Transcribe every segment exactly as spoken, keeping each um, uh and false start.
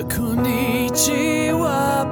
Konnichiwa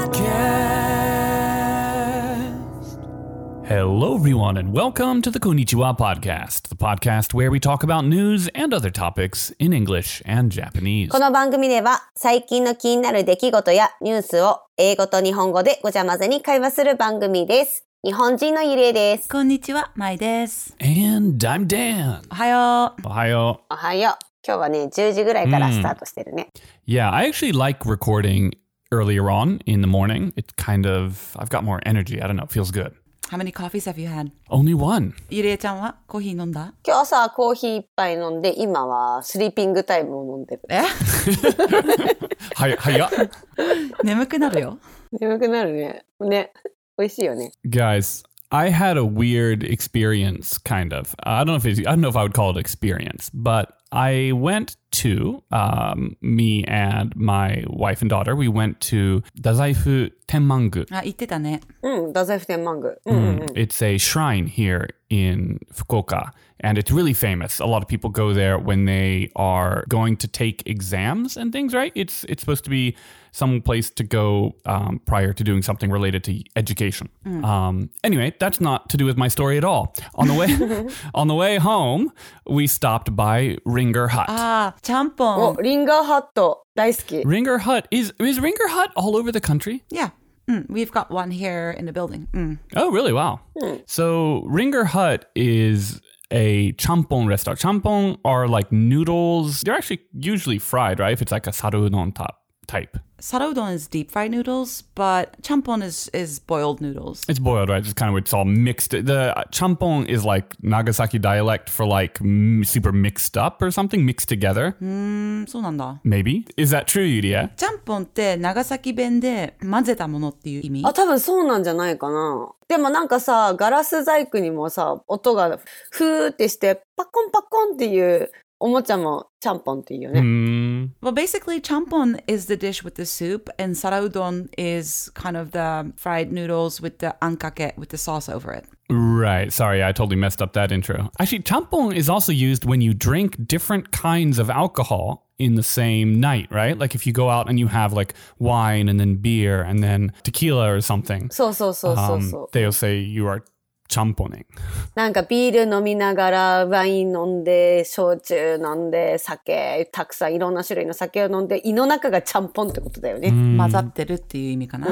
Podcast. Hello, everyone, and welcome to the Konnichiwa Podcast, the podcast where we talk about news and other topics in English and Japanese. この番組では最近の気になる出来事やニュースを英語と日本語でごちゃ混ぜに会話する番組です。日本人のゆりえです。 こんにちは、まいです。 And I'm Dan. おはよう。 おはよう。おはよう。今日はね、じゅうじぐらいからスタートしてるね。 Mm. Yeah, I actually like recording earlier on in the morning. It's kind of, I've got more energy. I don't know, it feels good. How many coffees have you had? Only one. ゆりえちゃんはコーヒー飲んだ？ 今日朝コーヒー一杯飲んで、今はスリーピングタイムを飲んでる。 えはや、はや。 眠くなるよ。 眠くなるね。ね。美味しいよね。 Guys, I had a weird experience, kind of. I don't know if it's, I don't know if I would call it experience, but I went to, um, me and my wife and daughter, we went to Dazaifu Tenmangu. あ、言ってたね。 うん、太宰府天満宮。うんうんうん。 It's a shrine here in Fukuoka, and it's really famous. A lot of people go there when they are going to take exams and things, right? It's it's supposed to be some place to go um, prior to doing something related to education. Mm. Um, anyway, that's not to do with my story at all. On the way on the way home, we stopped by Ringer Hut. あー、ちゃんぽん。 お、リンガーハット大好き。 Ringer Hut is is Ringer Hut all over the country? Yeah. Mm, we've got one here in the building. Mm. Oh, really? Wow. Mm. So Ringer Hut is a champon restaurant. Champon are like noodles. They're actually usually fried, right? If it's like a sarudon top type. Sarudon is deep fried noodles, but champon is, is boiled noodles. It's boiled, right? It's kind of, it's all mixed. The champon is like Nagasaki dialect for like m- super mixed up or something, mixed together. うーん、そうなんだ。 Maybe. Is that true, Yuria? ちゃんぽんって長崎弁で混ぜたものっていう意味？ あ、多分そうなんじゃないかな。でもなんかさ、ガラス細工にもさ、音がふーってしてパコンパコンっていうおもちゃもちゃんぽんっていうよね。 Mm. Well, basically, champon is the dish with the soup, and sarudon is kind of the fried noodles with the ankake, with the sauce over it. Right. Sorry, I totally messed up that intro. Actually, champon is also used when you drink different kinds of alcohol in the same night, right? Like if you go out and you have like wine and then beer and then tequila or something. そうそうそうそうそう。 Um, they'll say you are champoning. なんかビール飲みながらワイン飲んで焼酎飲んで酒たくさんいろんな種類の酒を飲んで胃の中がちゃんぽんってことだよね。 混ざってるっていう意味かな。 うん。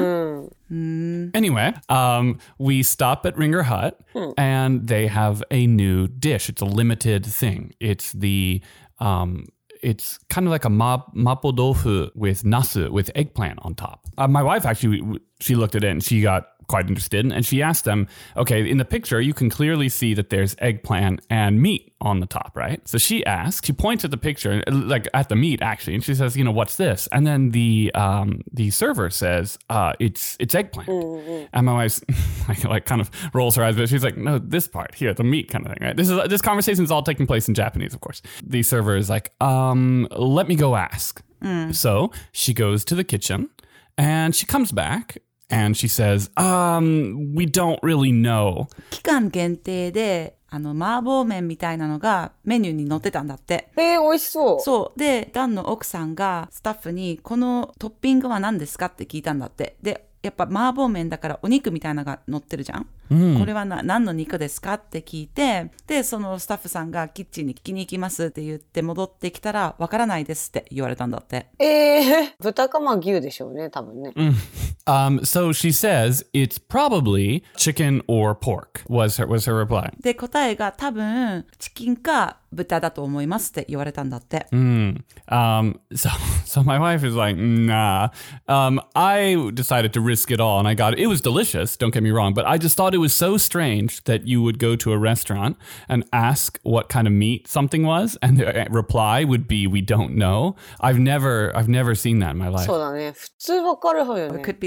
Mm. Anyway, um, we stop at Ringer Hut hmm. and they have a new dish. It's a limited thing. It's the um, it's kind of like a ma- mapo tofu with nasu with eggplant on top. Uh, my wife actually, she looked at it and she got quite interested, and she asked them, okay, in the picture you can clearly see that there's eggplant and meat on the top, right? So she asks, she points at the picture, like at the meat actually, and she says, you know, what's this? And then the um the server says, uh it's it's eggplant. Mm-hmm. And my wife like, like kind of rolls her eyes, but she's like, no, this part here, the meat kind of thing, right? This is this conversation is all taking place in Japanese, of course. The server is like, um let me go ask. Mm. So she goes to the kitchen and she comes back and she says, um, we don't really know. 期間限定で、あの、麻婆麺みたいなのがメニューに載ってたんだって。 えー、美味しそう。 そう。で、ダンの奥さんがスタッフに、このトッピングは何ですかって聞いたんだって。で、やっぱ麻婆麺だからお肉みたいなのが乗ってるじゃん、うん、これはな何の肉ですかって聞いて、でそのスタッフさんがキッチンに聞きに行きますって言って戻ってきたらわからないですって言われたんだって。 えー、豚かまあ牛でしょうね多分ね、 うん um, So she says it's probably chicken or pork was her, was her reply. で答えが多分チキンか豚だと思いますって言われたんだって。 Mm. Um, so, so my wife is like, nah. Um, I decided to risk it all and I got it. It was delicious, don't get me wrong, but I just thought it was so strange that you would go to a restaurant and ask what kind of meat something was and the reply would be, we don't know. I've never, I've never seen that in my life. そうだね。普通わかるはよね。 It could be like,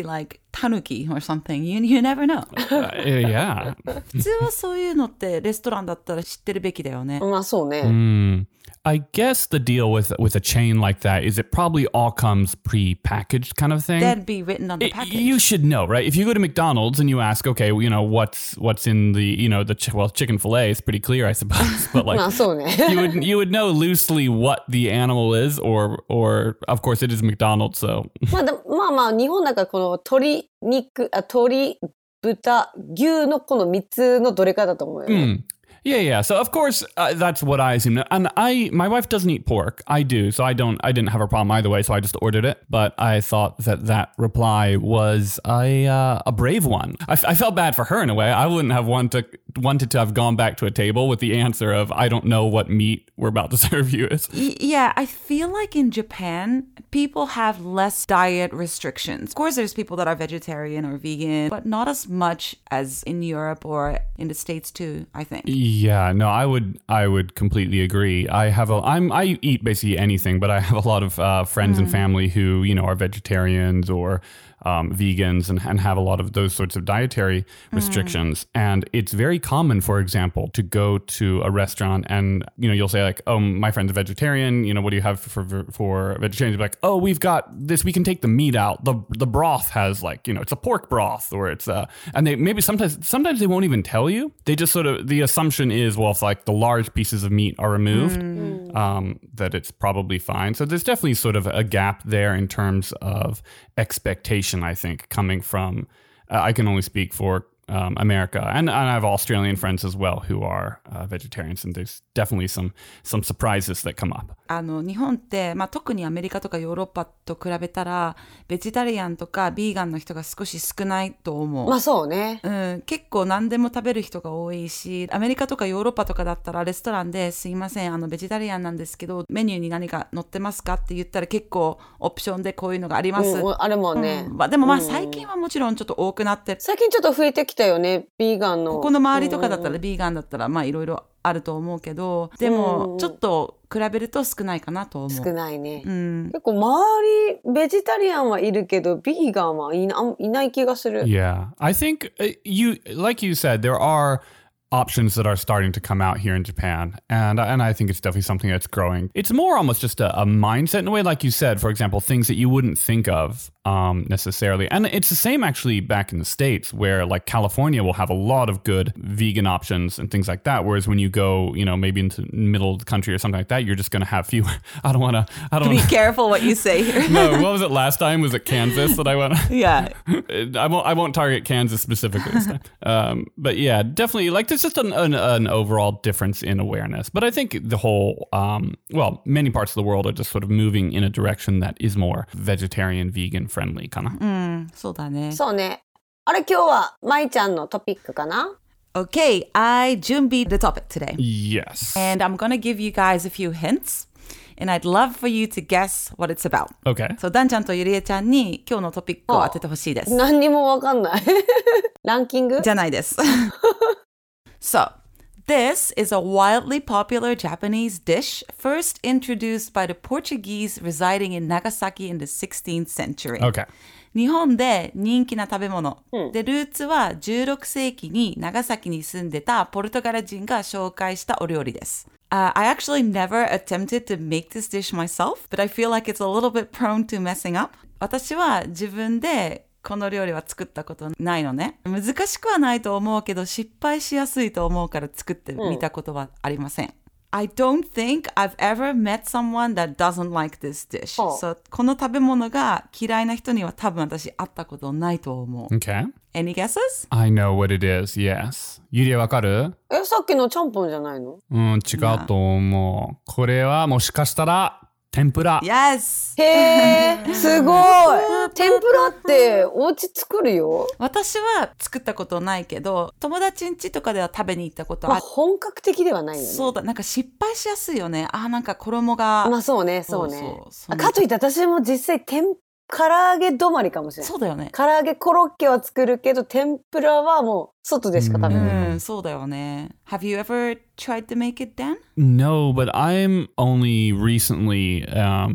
タヌキ or something. You, you never know. Uh, yeah. 普通はそういうのってレストランだったら知ってるべきだよね。 まあそうね。 Mm. I guess the deal with with a chain like that is it probably all comes pre-packaged kind of thing. That'd be written on the It- package. you should know, right? If you go to McDonald's and you ask, okay, well, you know, what's what's in the, you know, the ch- well, chicken fillet is pretty clear, I suppose. But まあ like, そうね。 you would you would know loosely what the animal is, or or of course it is McDonald's. So まあでもまあまあ日本だからこの鶏肉、あ鶏、豚、牛のこのみっつのどれかだと思うよね。 mm. yeah, yeah. So of course uh, that's what I assume. And I, my wife doesn't eat pork. I do, so I don't. I didn't have a problem either way. So I just ordered it. But I thought that that reply was a uh, a brave one. I, I felt bad for her in a way. I wouldn't have wanted wanted to have gone back to a table with the answer of I don't know what meat we're about to serve you is. Y- Yeah, I feel like in Japan, people have less diet restrictions. Of course, there's people that are vegetarian or vegan, but not as much as in Europe or in the States too, I think. Yeah, no, I would I would completely agree. I have a I'm I eat basically anything, but I have a lot of uh, friends and family who, you know, are vegetarians or um, vegans and, and have a lot of those sorts of dietary restrictions. And it's very common, for example, to go to a restaurant and, you know, you'll say like, oh, my friend's a vegetarian. You know, what do you have for for, for vegetarians? You'll be like, oh, we've got this. We can take the meat out. The the broth has like, you know, it's a pork broth or it's a, and they maybe sometimes sometimes they won't even tell you. They just sort of, the assumption is, well, if like the large pieces of meat are removed, um, that it's probably fine. So there's definitely sort of a gap there in terms of expectation, I think, coming from, uh, I can only speak for um, America, and, and I have Australian friends as well who are uh, vegetarians, and there's definitely some some surprises that come up. あの日本って、まあ、特にアメリカとかヨーロッパと比べたらベジタリアンとかビーガンの人が少し少ないと思う。 まあそうね。 うん、結構何でも食べる人が多いし、アメリカとかヨーロッパとかだったらレストランですいません、あのベジタリアンなんですけどメニューに何か載ってますかって言ったら結構オプションでこういうのがあります。 うん、あるもんね。 うんまあ、でもまあ最近はもちろんちょっと多くなって、 最近ちょっと増えてきたよね、ビーガンの。 ここの周りとかだったらビーガンだったらまあいろいろあると思うけど、でもちょっと比べると少ないかなと思う。 少ないね。 うん、 結構周りベジタリアンはいるけどビーガンはいな、いない気がする。 Yeah, I think uh, you, like you said, there are options that are starting to come out here in Japan, and and I think it's definitely something that's growing. It's more almost just a, a mindset in a way, like you said, for example, things that you wouldn't think of um, necessarily. And it's the same actually back in the States, where like California will have a lot of good vegan options and things like that. Whereas when you go, you know, maybe into the middle of the country or something like that, you're just going to have fewer. I don't want to. I don't. Be wanna, careful what you say here. no, what was it last time? Was it Kansas that I went? Yeah. I won't. I won't target Kansas specifically this time. Um, but yeah, definitely. Like there's just an, an, an overall difference in awareness. But I think the whole, um, well, many parts of the world are just sort of moving in a direction that is more vegetarian, vegan friendly, かな。 うん、そうだね。 そうね。あれ今日はまいちゃんのトピックかな？ Okay, I 준비 the topic today. Yes. And I'm gonna give you guys a few hints. And I'd love for you to guess what it's about. Okay. そう、ダンちゃんとゆりえちゃんに今日のトピックを当ててほしいです。 何にもわかんない。ランキング？ じゃないです。So, this is a wildly popular Japanese dish first introduced by the Portuguese residing in Nagasaki in the sixteenth century. Okay. 日本で人気な食べ物、 うん、 でルーツはじゅうろく世紀に長崎に住んでたポルトガル人が紹介したお料理です。Uh, I actually never attempted to make this dish myself, but I feel like it's a little bit prone to messing up. 私は自分でこの料理は作ったことないのね。難しくはないと思うけど失敗しやすいと思うから作ってみたことはありません。I don't think I've ever met someone that doesn't like this dish. Oh. So, この食べ物が嫌いな人には多分私会ったことないと思う。 Okay. Any guesses? I know what it is. Yes. ゆりえわかる？ え、さっきのちゃんぽんじゃないの？ うん、違うと思う。これはもしかしたら天ぷら。 Yes! へー、すごい。天ぷらってお家作るよ。 私は作ったことないけど、友達ん家とかでは食べに行ったことまあ、 ある。 本格的ではないよね。 そうだ、なんか失敗しやすいよね。あ、なんか衣が。 まあそうね、そうね。 そうそうそうあかといって私も実際天唐揚げ止まりかもしれない。 そうだよね。 唐揚げコロッケは作るけど天ぷらはもう外でしか食べない。 うん、そうだよね。Have you ever tried to make it, Dan? No, but I'm only recently um,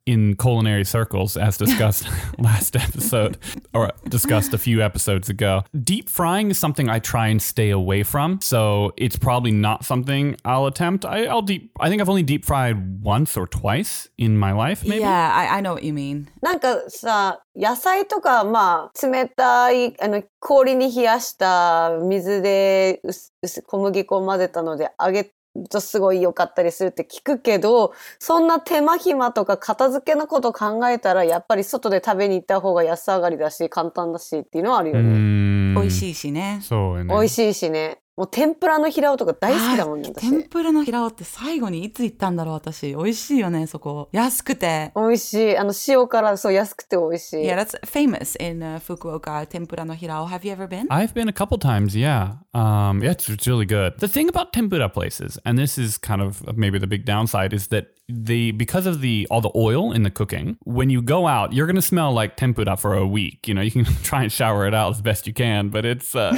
in culinary circles, as discussed last episode, or discussed a few episodes ago. Deep frying is something I try and stay away from, so it's probably not something I'll attempt. I, I'll deep. I think I've only deep fried once or twice in my life, maybe. Yeah, I, I know what you mean. なんかさ、野菜とか、まあ、冷たい、あの、氷に冷やした水で薄薄小麦粉を混ぜたので揚げるとすごい良かったりするって聞くけど、そんな手間暇とか片付けのこと考えたら、やっぱり外で食べに行った方が安上がりだし、簡単だしっていうのはあるよね。 うん美味しいしね。 そうよね。 美味しいしね。もう天ぷらの平尾とか大好きだもんね、私。 天ぷらの平尾って最後にいつ行ったんだろう、私。美味しいよね、そこ。安くて。 美味しい。あの、塩辛、そう、安くて美味しい。 Yeah, that's famous in、uh, Fukuoka, tempura no hirao. Have you ever been? I've been a couple times, yeah. Um, yeah, it's, it's really good. The thing about tempura places, and this is kind of maybe the big downside, is that the because of the all the oil in the cooking, when you go out, you're gonna smell like tempura for a week. You know, you can try and shower it out as best you can, but it's uh,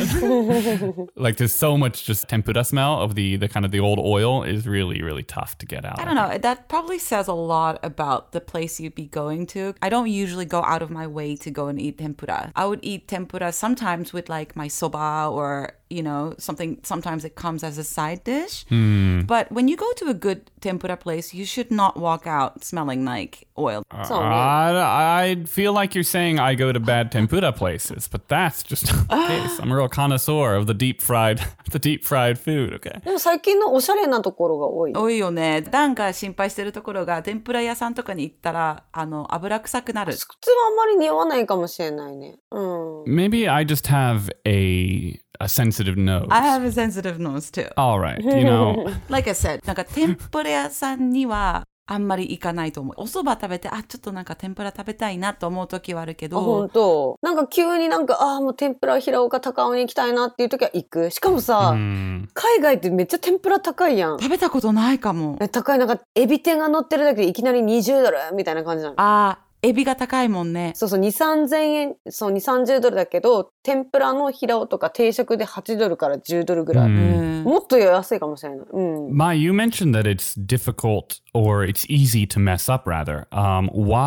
like there's so much just tempura smell of the the kind of the old oil is really really tough to get out. I don't know. That probably says a lot about the place you'd be going to. I don't usually go out of my way to go and eat tempura. I would eat tempura sometimes with like my soba or, you know, something. Sometimes it comes as a side dish. Mm. But when you go to a good tempura place, you should not walk out smelling like oil. Uh, I, I feel like you're saying I go to bad tempura places, but that's just not the case. I'm a real connoisseur of the deep fried, the deep fried food. Okay. でも最近のおしゃれなところが多い。 多いよね。ダンが心配してるところが天ぷら屋さんとかに行ったらあの油臭くなる。 普通はあんまり匂わないかもしれないね。うん。 Maybe I just have a a sensitive nose. I have a sensitive nose too. All right, you know. Like I said, なんか天ぷら屋さんにはあんまり行かないと思う。お蕎麦食べて、あ、ちょっとなんか天ぷら食べたいなと思う時はあるけど。 あ、本当。なんか急になんか、ああ、もう天ぷら平岡高尾に行きたいなっていう時は行く。しかもさ、 Mm. 海外ってめっちゃ天ぷら高いやん。 食べたことないかも。 え、高い。なんか、エビ天が乗ってるだけでいきなりにじゅうドルみたいな感じなの。 あー、エビが高いもんね。 そうそう、に、さんぜんえん、そう、に、さんじゅうドルだけど、天ぷらの平尾とか定食ではちドルからじゅうドルぐらい。 Mm. もっと安いかもしれない。うん。 Mai, you mentioned that it's difficult or it's easy to mess up, rather. Um,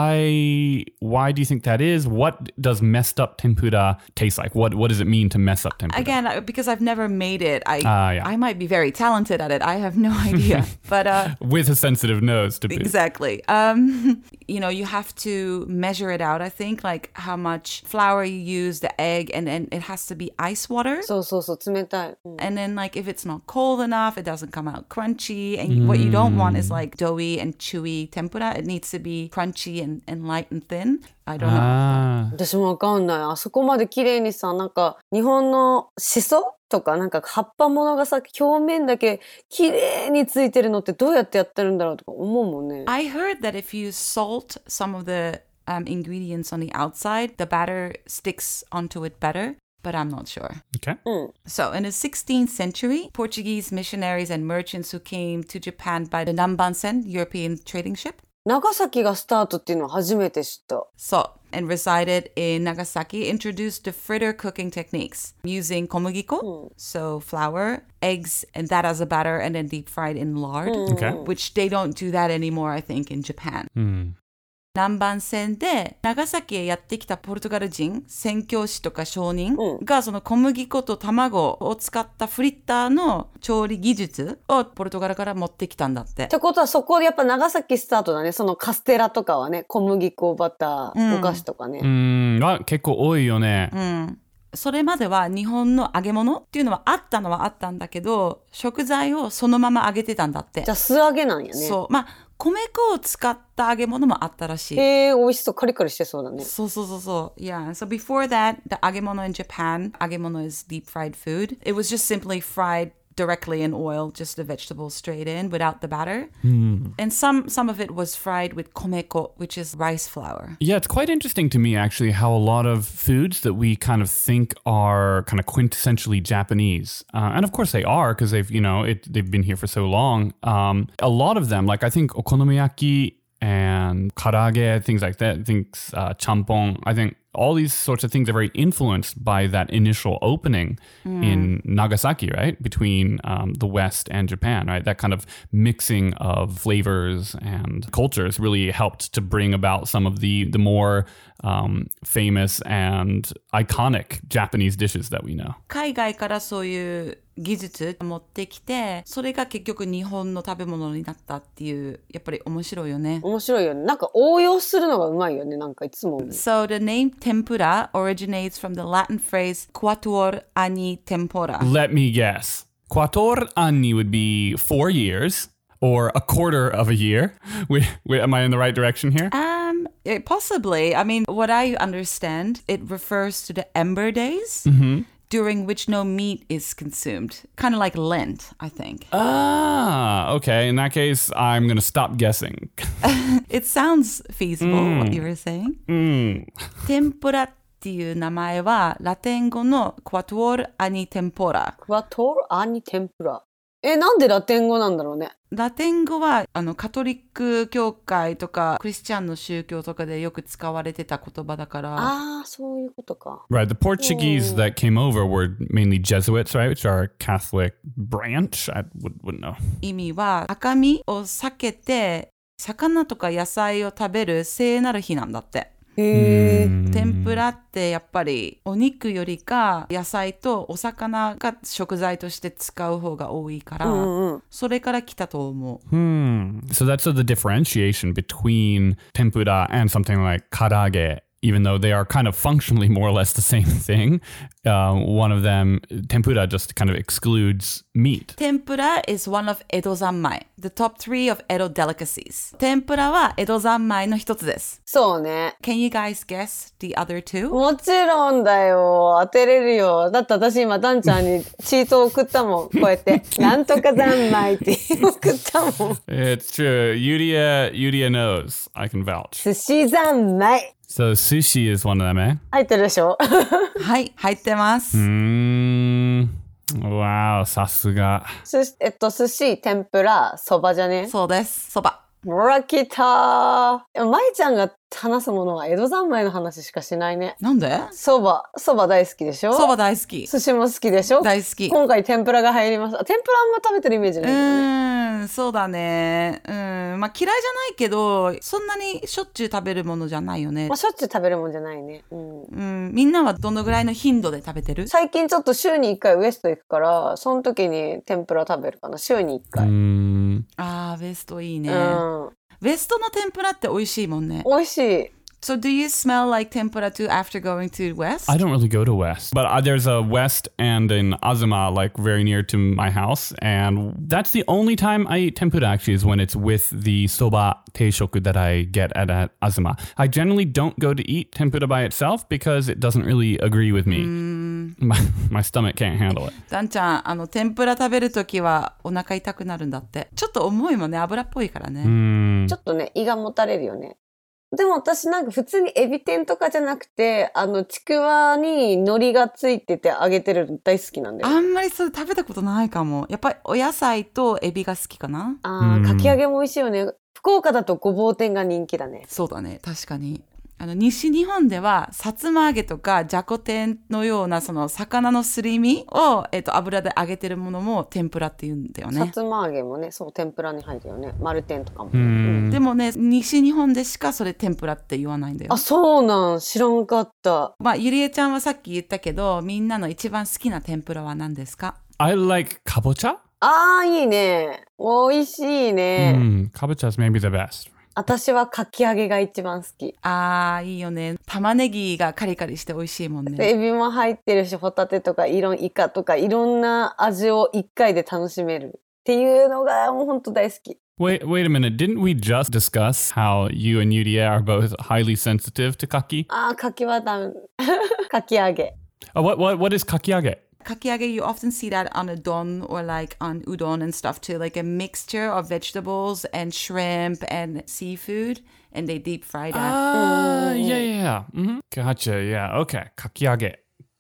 why why do you think that is? What does messed up tempura taste like? What what does it mean to mess up tempura? Again, because I've never made it, I Ah, yeah. I might be very talented at it. I have no idea. But uh, With a sensitive nose to boot. exactly. Um, you know, you have to measure it out, I think, like how much flour you use, the egg, and then it has to be ice water. そうそうそう、冷たい。うん And then, like, if it's not cold enough, it doesn't come out crunchy. And what you don't want is like doughy and chewy tempura. It needs to be crunchy and, and light and thin. I don't know. Ah. 私もわかんない。あそこまで綺麗にさ、なんか日本のシソとかなんか葉っぱものがさ、表面だけ綺麗についてるのってどうやってやってるんだろうとか思うもんね。 I heard that if you salt some of the um, ingredients on the outside, the batter sticks onto it better. But I'm not sure. Okay. So in the sixteenth century, Portuguese missionaries and merchants who came to Japan by the Nambansen European trading ship. 長崎がスタートっていうのを初めて知った。 So, and resided in Nagasaki, introduced the fritter cooking techniques using komugiko, so flour, eggs, and that as a batter, and then deep fried in lard, Okay. which they don't do that anymore, I think, in Japan. Hmm. 南蛮船で長崎へやってきたポルトガル人宣教師とか商人がその小麦粉と卵を使ったフリッターの調理技術をポルトガルから持ってきたんだって。 ってことはそこでやっぱ長崎スタートだね。そのカステラとかはね、小麦粉バター、お菓子とかね。 うん、あ、結構多いよね。 うん。それまでは日本の揚げ物っていうのはあったのはあったんだけど、食材をそのまま揚げてたんだって。 じゃあ素揚げなんやね。 そう。まあ米粉を使った揚げ物もあったらしい。 へえ、美味しそう。カリカリしてそうだね。 そうそうそうそう。Yeah. So before that, the 揚げ物 in Japan, 揚げ物 is deep fried food. It was just simply fried directly in oil, just the vegetables straight in without the batter. Mm. And some some of it was fried with komeko, which is rice flour. Yeah, it's quite interesting to me actually how a lot of foods that we kind of think are kind of quintessentially Japanese, uh, and of course they are because they've you know it, they've been here for so long. Um, a lot of them, like I think okonomiyaki and karage, things like that. I think uh, champon. I think all these sorts of things are very influenced by that initial opening mm. in Nagasaki, right? Between um, the West and Japan, right? That kind of mixing of flavors and cultures really helped to bring about some of the, the more um, famous and iconic Japanese dishes that we know. 海外からそういう技術持ってきて、それが結局日本の食べ物になったっていう、やっぱり面白いよね。 面白いよね。なんか応用するのがうまいよね。なんかいつも。 So the name tempura originates from the Latin phrase quattuor anni tempora. Let me guess. Quattuor anni would be four years or a quarter of a year. Wait, wait, am I in the right direction here? Um, it, possibly. I mean, what I understand, it refers to the ember days. Mm-hmm. During which no meat is consumed. Kind of like Lent, I think. Ah, okay. In that case, I'm going to stop guessing. It sounds feasible, mm. what you were saying. Mm. 天ぷらっていう名前はラテン語の Quattuor anni tempora. Quattuor anni tempora. え、なんでラテン語なんだろうね。 ラテン語はあのカトリック教会とかクリスチャンの宗教とかでよく使われてた言葉だから。 ああ、そういうことか。 Right, the Portuguese that came over were mainly Jesuits, right, which are a Catholic branch. I would, wouldn't know. 意味は赤身を避けて魚とか野菜を食べる聖なる日なんだって。 へー天ぷらってやっぱりお肉よりか野菜とお魚が食材として使う方が多いから、うんうん、それから来たと思う。 Hmm. So that's the differentiation between tempura and something like karage. Even though they are kind of functionally more or less the same thing, uh, one of them, tempura, just kind of excludes meat. Tempura is one of Edo zanmai, the top three of Edo delicacies. Tempura は江戸三昧の一つです。 そうね。 Can you guys guess the other two? もちろんだよ。当てれるよ。だって私今ダンちゃんにチートを送ったもん。こうやって。なんとか三昧って送ったもん。 It's true. Yuria, Yuria knows. I can vouch. 寿司三昧。 So sushi is one of them, eh? 入ってるでしょはい、入ってます。 うーん。Wow, さすが。 えっと、寿司、天ぷら、そばじゃね？ そうです。そば。 ほら、来たー。まいちゃんが話すものは江戸三昧の話しかしないね。 なんで？ そば、そば大好きでしょ？ そば大好き。 寿司も好きでしょ？ 大好き。 今回天ぷらが入ります。天ぷらあんま食べてるイメージないけどね。 うーん、そうだね。うん、まあ嫌いじゃないけど、そんなにしょっちゅう食べるものじゃないよね。 まあしょっちゅう食べるもんじゃないね。うん。 うん、みんなはどのぐらいの頻度で食べてる？ 最近ちょっと週にいっかいウエスト行くから、その時に天ぷら食べるかな。週にいっかい。 うーん。 あー、ウエストいいね。 うん。 ウエストの天ぷらって美味しいもんね。 美味しい。 So do you smell like tempura too after going to West? I don't really go to West, but uh, there's a West and an Azuma like very near to my house, and that's the only time I eat tempura actually is when it's with the soba teishoku that I get at, at Azuma. I generally don't go to eat tempura by itself because it doesn't really agree with me. Mm. My, my stomach can't handle it. ダンちゃん、あの天ぷら食べるときはお腹痛くなるんだって。ちょっと重いもんね、油っぽいからね。 Mm. ちょっとね、胃がもたれるよね。でも私なんか普通にエビ天とかじゃなくて、あのちくわに海苔がついてて揚げてるの大好きなんだよ。 あんまりそれ食べたことないかも。やっぱりお野菜とエビが好きかな。 ああ、かき揚げも美味しいよね。福岡だとごぼう天が人気だね。 そうだね、確かに。あの西日本ではさつま揚げとかじゃこ天のようなその魚のすり身を、えーと、油で揚げてるものも天ぷらって言うんだよね。 さつま揚げもね、そう天ぷらに入るよね。丸天とかも、ね。 うん、 でもね、西日本でしかそれ天ぷらって言わないんだよ。 あ、そうなん、知らんかった。 まあゆりえちゃんはさっき言ったけど、みんなの一番好きな天ぷらは何ですか？ I like kabocha. あー、いいね。美味しいね。 うん、kabocha is maybe the best. 私はかき揚げが一番好き。 あー、いいよね。玉ねぎがカリカリして美味しいもんね。 エビも入ってるし、ホタテとかいろんイカとかいろんな味を一回で楽しめるっていうのがもう本当大好き。 Wait, wait a minute. Didn't we just discuss how you and Yuria are both highly sensitive to kaki? あー、かきはダメ。かき揚げ。 Oh, what, what, what is kakiage? Kakiage, you often see that on a don or like on udon and stuff too, like a mixture of vegetables and shrimp and seafood, and they deep fry that. Ah, uh, yeah, yeah, yeah. Mm-hmm. Gotcha, yeah, okay. Kakiage.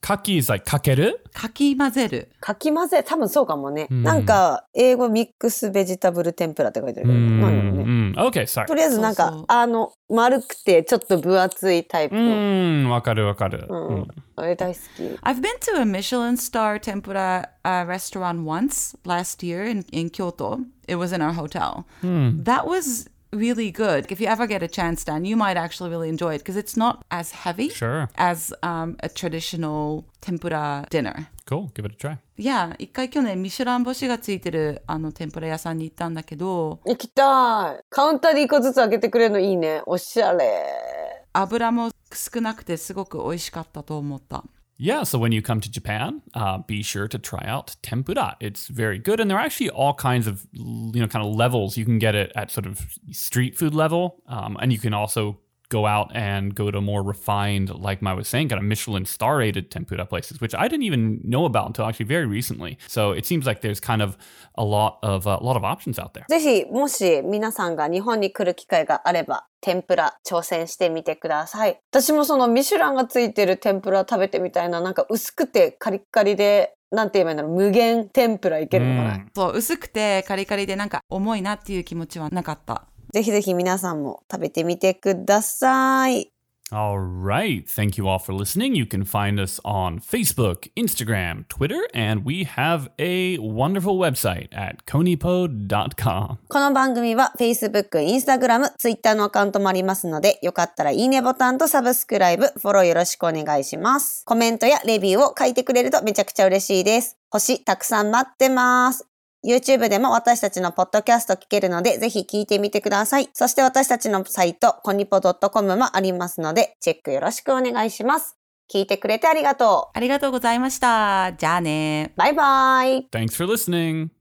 かき is like かけるかき混ぜる。 かき混ぜ、多分そうかもね。 うんなんか、英語ミックスベジタブル天ぷらって書いてるけど、なんやろね。 うん Okay, sorry. とりあえずなんか、 そうそうあの、丸くてちょっと分厚いタイプうの。 ん、わかるわかる。 うんうんあれ大好き。 I've been to a Michelin star tempura uh, restaurant once last year in, in Kyoto. It was in our hotel. That was really good. If you ever get a chance, Dan, you might actually really enjoy it because it's not as heavy Sure. as um, a traditional tempura dinner. Cool. Give it a try. Yeah, 一回去年ミシュラン星がついてるあの天ぷら屋さんに行ったんだけど、 行きたい。カウンターで一個ずつ開けてくれるのいいね。おしゃれ。 油も少なくてすごく美味しかったと思った。 Yeah, so when you come to Japan, uh, be sure to try out tempura. It's very good, and there are actually all kinds of, you know, kind of levels. You can get it at sort of street food level, um, and you can also go out and go to more refined, like Mai was saying, kind of Michelin star-rated tempura places, which I didn't even know about until actually very recently. So it seems like there's kind of a lot of uh, a lot of options out there. ぜひ、もし皆さんが日本に来る機会があれば、天ぷら挑戦してみてください。私もそのミシュランがついてる天ぷら食べてみたいな、なんか薄くてカリッカリで、なんて言えばいいんだろう、無限天ぷらいけるのかな。 そう、薄くてカリカリでなんか重いなっていう気持ちはなかった。 ぜひぜひ皆さんも食べてみてください。 All right. Thank you all for listening. You can find us on Facebook, Instagram, Twitter, and we have a wonderful website at konipo dot com. この番組は Facebook、Instagram、Twitter のアカウントもありますので、よかったらいいねボタンとサブスクライブ、フォローよろしくお願いします。コメントやレビューを書いてくれるとめちゃくちゃ嬉しいです。星たくさん待ってます。YouTube でも私たちのポッドキャスト聞けるので、ぜひ聞いてみてください。そして私たちのサイト、コニポドットコムもありますので、チェックよろしくお願いします。聞いてくれてありがとう。 ありがとうございました。じゃあね。 バイバイ。 Thanks for listening.